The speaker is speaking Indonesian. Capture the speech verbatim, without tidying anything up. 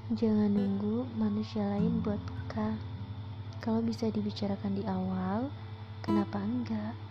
Jangan nunggu manusia lain buat peka. Kalau bisa dibicarakan di awal, kenapa enggak?